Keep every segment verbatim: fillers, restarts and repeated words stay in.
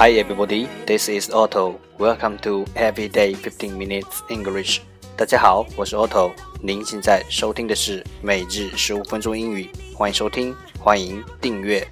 Hi everybody, this is Otto. Welcome to Everyday fifteen minutes English. 大家好，我是 Otto。您现在收听的是每日十五分钟英语，欢迎收听，欢迎订阅。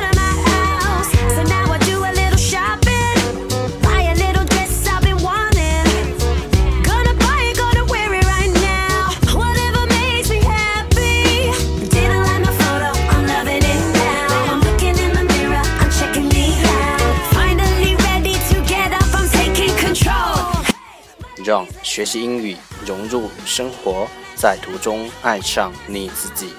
让学习英语融入生活，在途中爱上你自己。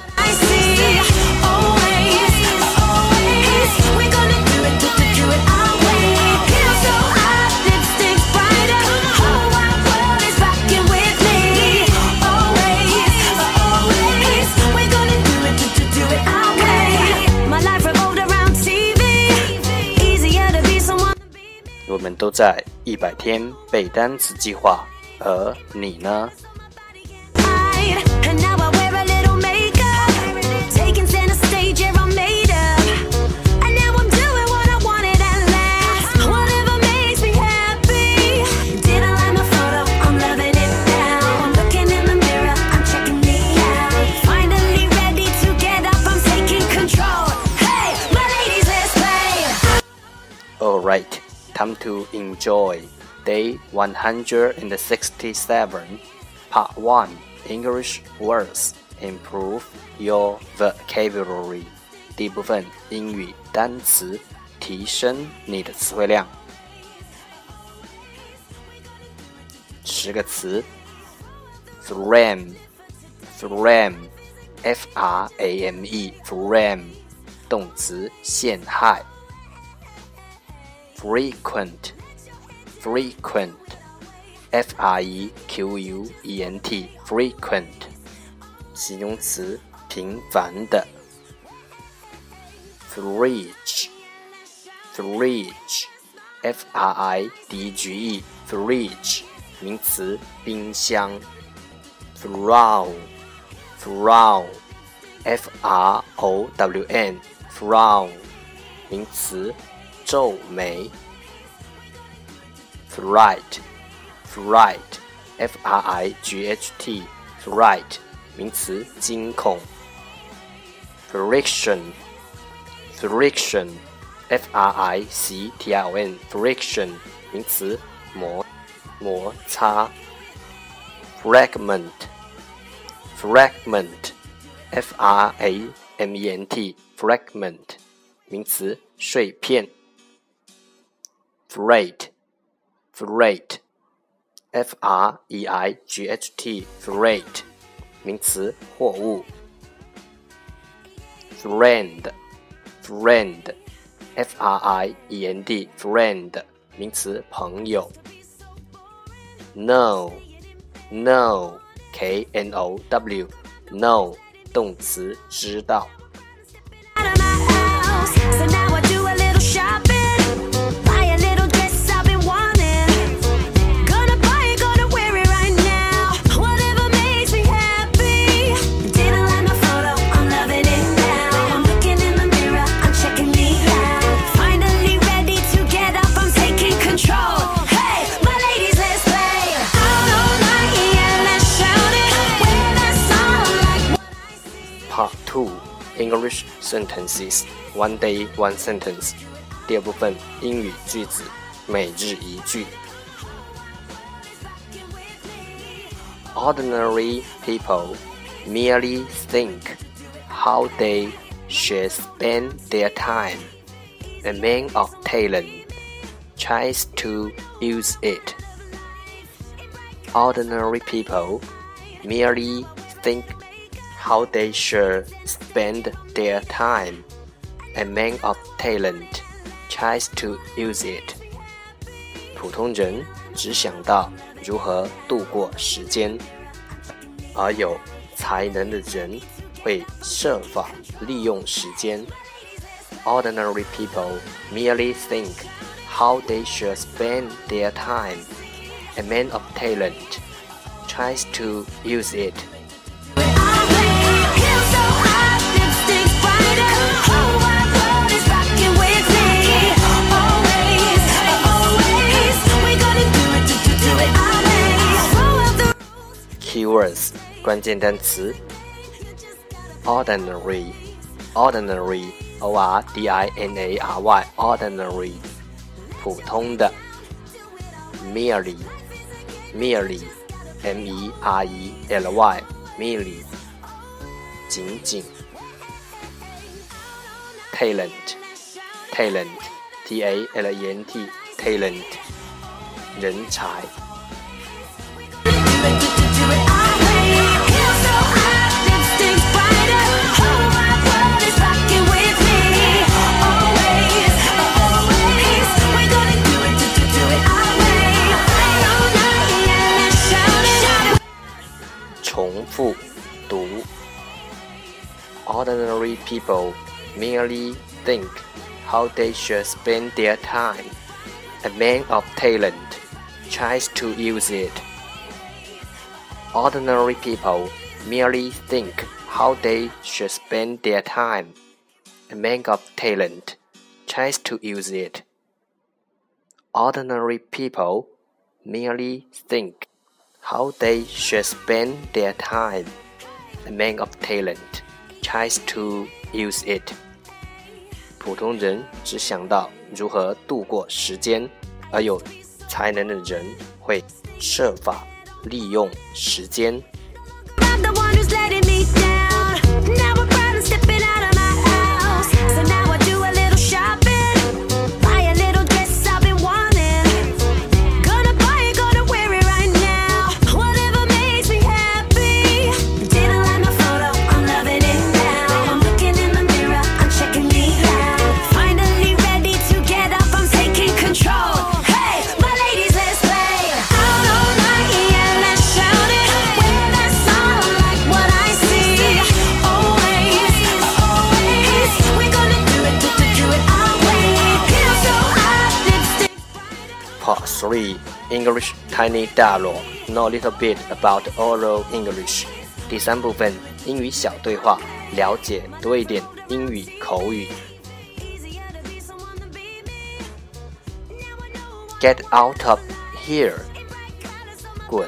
我们都在一百天背单词计划，而你呢？All right, time to enjoy day one hundred sixty-seven, part one, English words, improve your vocabulary. 第一部分英语单词，提升你的词汇量。十个词 frame, frame, F R A M E, frame, 动词陷害。frequent, frequent, F R E Q U E N T, frequent, 形容词频繁的。fridge, fridge, F R I D G E, fridge, 名词冰箱。frown, frown, F R O W N, frown, 名词皱眉。fright, fright, F R I G H T, fright, 名词惊恐。friction, friction, F R I C T I O N, friction, 名词摩摩擦。fragment, fragment, F R A M E N T, fragment, 名词碎片。freight, freight, F R E I G H T, freight, 名词货物。friend, friend, F R I E N D, friend, 名词朋友。know, know, K N O W, know, 动词知道。Part two, English sentences, one day one sentence. 第二部分英语句子，每日一句。Ordinary people merely think how they should spend their time. A man of talent tries to use it. Ordinary people merely think how they should spend their time. A man of talent tries to use it. 普通人只想到如何度过时间，而有才能的人会设法利用时间。Ordinary people merely think how they should spend their time. A man of talent tries to use it. Keywords 关键单词 Ordinary Ordinary O R D I N A R Y Ordinary 普通的 Merely Merely M E R E L Y Merely 仅仅 Talent Talent T A L E N T Talent 人才重复读 Ordinary people merely think how they should spend their time. A man of talent tries to use it. Ordinary people merely think how they should spend their time. A man of talent tries to use it. Ordinary people merely think how they should spend their time. A man of talent tries to use it. 普通人只想到如何度过时间，而有才能的人会设法利用时间。Part three English Tiny Dialogue Know a little bit about oral English 第三部分英语小对话，了解多一点英语口语。Get out of here 滚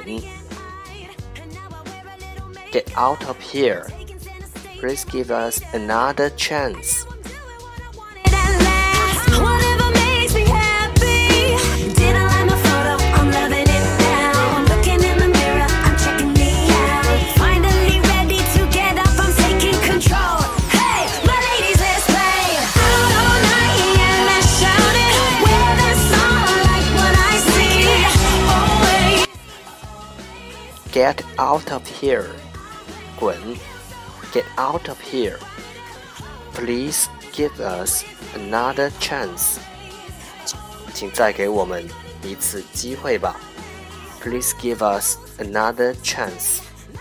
Get out of here Please give us another chance Get out of here 滚 Get out of here Please give us another chance 请再给我们一次机会吧 Please give us another chance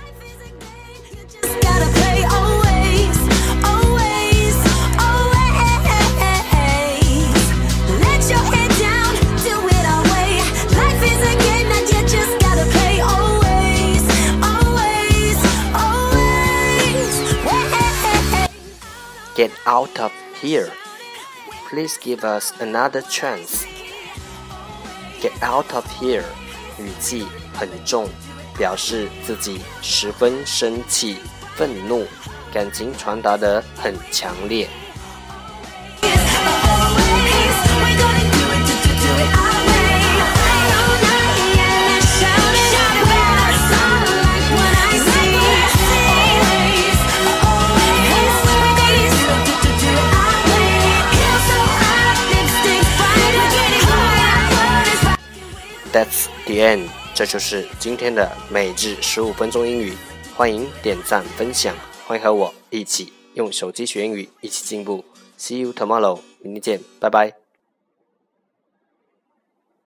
Get out of here. Please give us another chance. Get out of here. 语气很重，表示自己十分生气、愤怒，感情传达得很强烈。That's the end. 这就是今天的每日十五分钟英语。欢迎点赞分享，欢迎和我一起用手机学英语，一起进步。See you tomorrow. 明天见，拜拜。